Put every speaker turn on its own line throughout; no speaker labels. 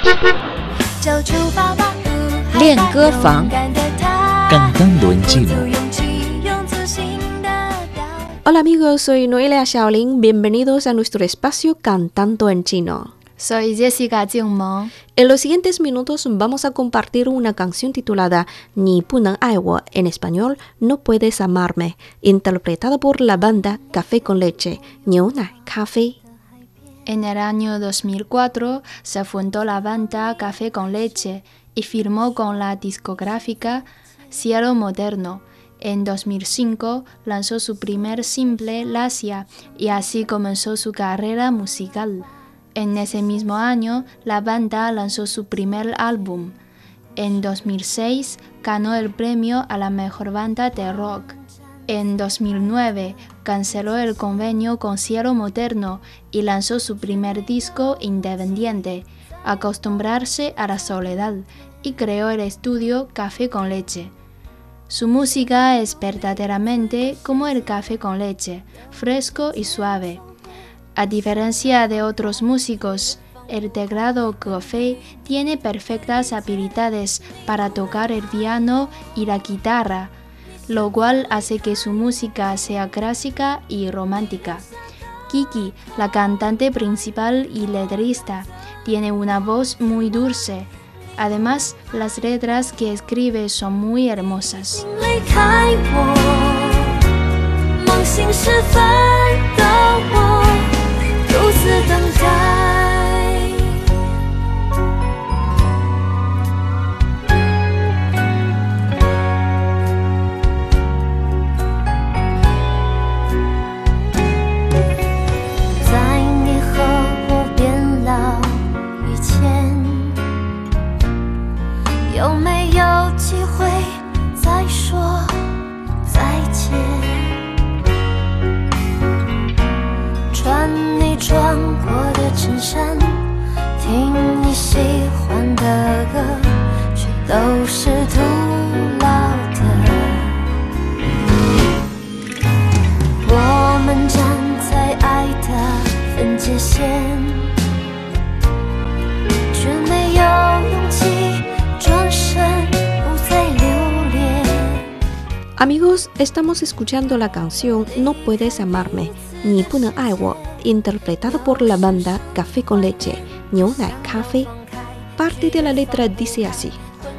练歌房
Cantando en chino.
Hola amigos, soy Noelia Xiaolin. Bienvenidos a nuestro espacio Cantando en Chino.
Soy Jessica Jingmeng.
En los siguientes minutos vamos a compartir una canción titulada Ni不能爱我, en español No puedes amarme, interpretada por la banda Café con Leche, 牛奶咖啡.
En el año 2004 se fundó la banda Café con Leche y firmó con la discográfica Cielo Moderno. En 2005 lanzó su primer simple, Lasia, y así comenzó su carrera musical. En ese mismo año, la banda lanzó su primer álbum. En 2006 ganó el premio a la mejor banda de rock. En 2009 canceló el convenio con Cielo Moderno y lanzó su primer disco independiente, Acostumbrarse a la soledad, y creó el estudio Café con Leche. Su música es verdaderamente como el café con leche, fresco y suave. A diferencia de otros músicos, el teclado Ge tiene perfectas habilidades para tocar el piano y la guitarra, lo cual hace que su música sea clásica y romántica. Kiki, la cantante principal y letrista, tiene una voz muy dulce. Además, las letras que escribe son muy hermosas.
Amigos, estamos escuchando la canción No puedes amarme, 你不能爱我, interpretada por la banda Café con Leche, 牛奶咖啡. Parte de la letra dice así: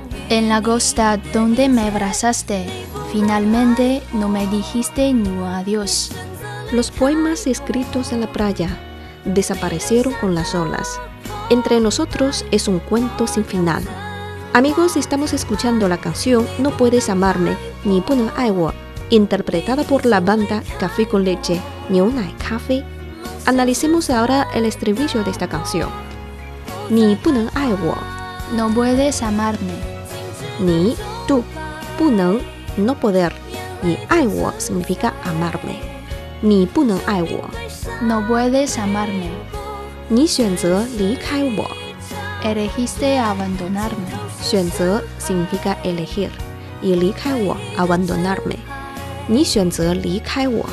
En la costa donde me abrazaste, finalmente no me dijiste ni un adiós.
Los poemas escritos en la playa desaparecieron con las olas. Entre nosotros es un cuento sin final. Amigos, estamos escuchando la canción No puedes amarme, 你不能爱我, interpretada por la banda Café con Leche, 牛奶咖啡. Analicemos ahora el estribillo de esta canción. 你不能爱我,
No puedes amarme.
你, tú, 不能, no poder, y 爱我 significa amarme. 你不能爱我,
No puedes amarme.
你选择离开我.
Elegiste abandonarme.
选择 significa elegir, y 离开我 abandonarme. 你选择离开我.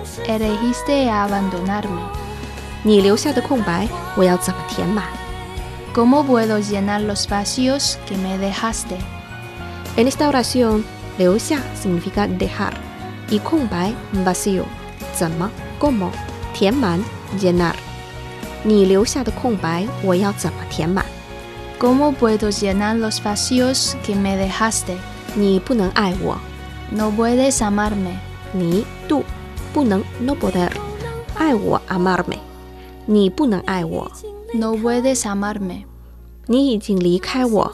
Elegiste abandonarme.
你留下的空白我要怎么填满?
¿Cómo puedo llenar los vacíos que me dejaste?
En esta oración, 留下 significa dejar, y 空白 vacío, 怎么 cómo, 填满 llenar. 你留下的空白我要怎么填满?
¿Cómo puedo llenar los vacíos que me dejaste?
你不能爱我.
No puedes amarme.
你 tú, 不能 no poder, 爱我 amarme. 你不能爱我.
No puedes amarme.
你已经离开我.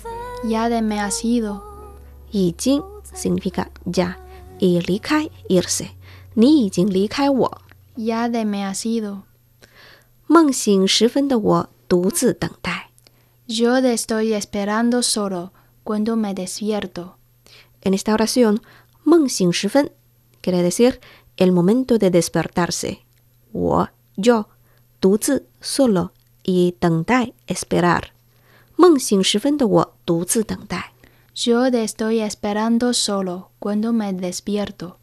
Ya te me has ido.
已经 significa ya, y 离开 irse. 你已经离开我.
Ya te me has ido.
梦醒时分的我独自等待.
Yo te estoy esperando solo cuando me despierto.
En esta oración, 梦醒时分 quiere decir el momento de despertarse. 我 yo, 独自 solo, y 等待 esperar. 梦醒时分的我独自等待.
Yo te estoy esperando solo cuando me despierto.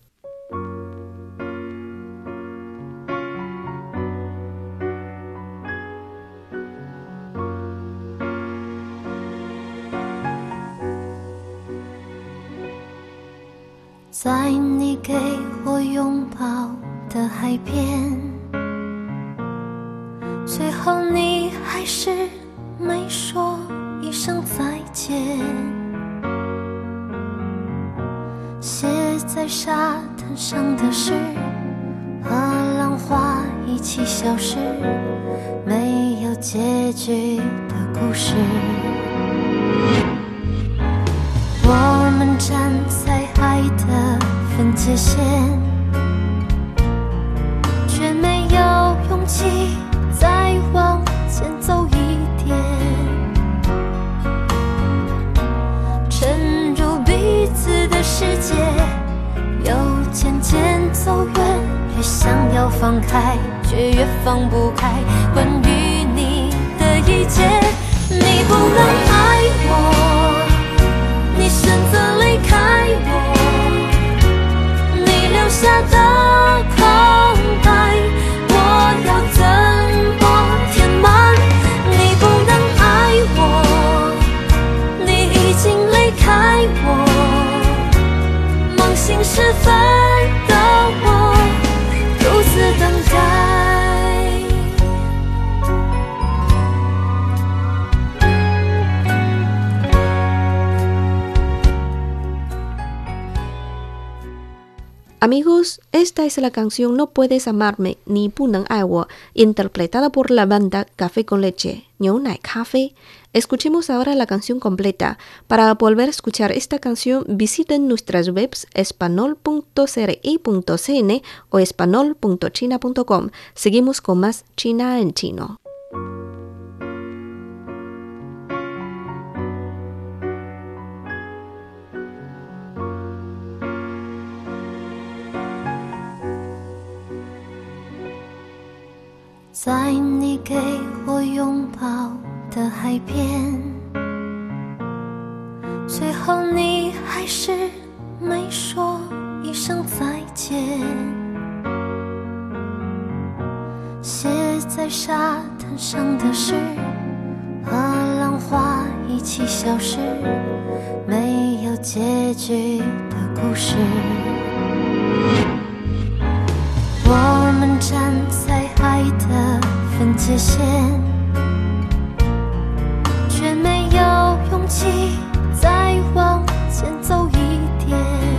在你给我拥抱的海边，最后你还是没说一声再见。写在沙滩上的诗和浪花一起消失，没有结局的故事。我们站在爱的分界线，却没有勇气再往前走一点，沉入彼此的世界，又渐渐走远，越想要放开，却越放不开关于你的一切。你不能爱我，你选择离开我，你留下的空白，我要怎么填满？你不能爱我，你已经离开我，梦醒时分的我独自等待。
Amigos, esta es la canción No Puedes Amarme, Ni 不能爱我 interpretada por la banda Café con Leche, 牛奶咖啡. Escuchemos ahora la canción completa. Para volver a escuchar esta canción, visiten nuestras webs espanol.cri.cn o espanol.china.com. Seguimos con más China en chino.
"在你给我拥抱的海边，最后你还是没说一声再见。写在沙滩上的诗和浪花一起消失，没有结局的故事。我们站在爱的分界线，却没有勇气再往前走一点，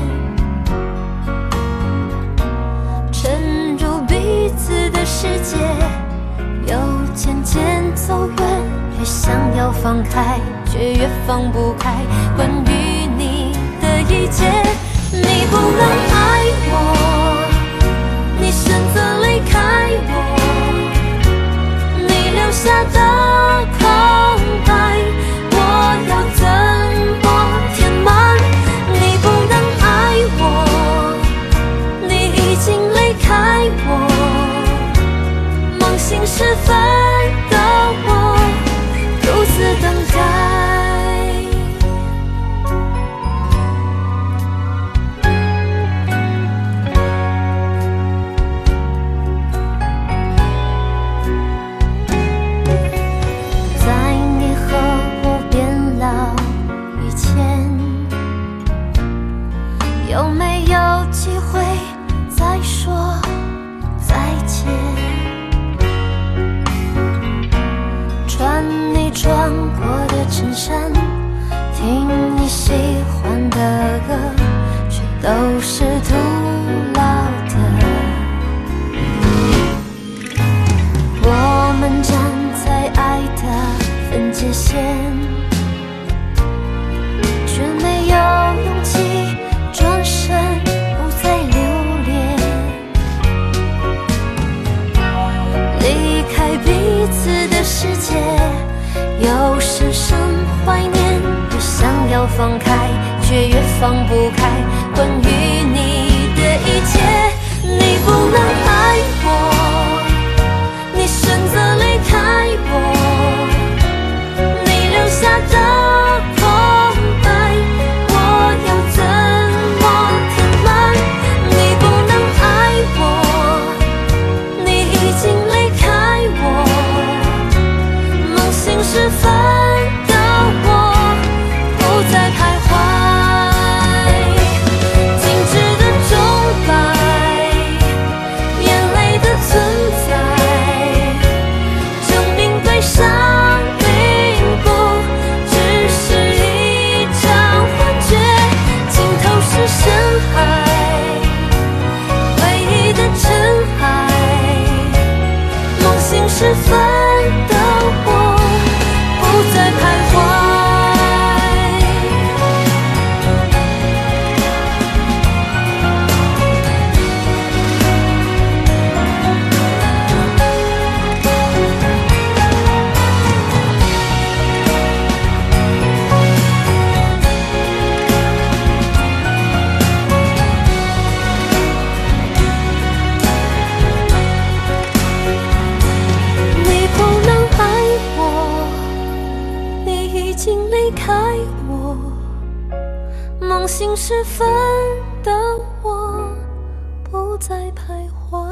沉入彼此的世界，又渐渐走远，越想要放开，却越放不开关于你的一切。你不能爱我，你选择离开我，你留下的空白，我要怎么填满？你不能爱我，你已经离开我，梦醒时分的我独自等待。有没有机会再说再见？穿你穿过的衬衫，听你喜欢的歌，却都是徒劳的。我们站在爱的分界线，却没有勇气转身不再留恋，离开彼此的世界，又深深怀念，越想要放开，却越放不开关于你的一切。你不能爱我，你选择离开我，你留下的空白，我要怎么填满？你不能爱我，你已经离开我，梦醒时分的我不再徘徊，静止的开我，梦醒时分的我不再徘徊。